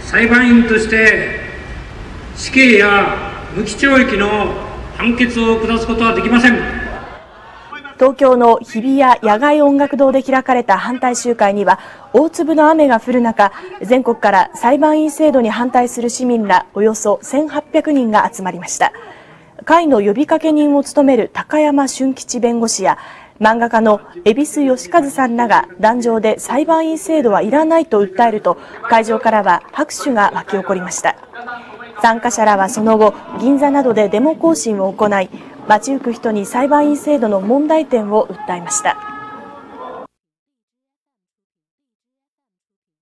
裁判員として死刑や無期懲役の判決を下すことはできません。 東京の日比谷野外音楽堂で開かれた反対集会には大粒の雨が降る中、全国から裁判員制度に反対する市民らおよそ1800人が集まりました。会の呼びかけ人を務める高山俊吉弁護士や漫画家の蛭子能和さんらが壇上で裁判員制度はいらないと訴えると、会場からは拍手が沸き起こりました。参加者らはその後、銀座などでデモ行進を行い、街行く人に裁判員制度の問題点を訴えました。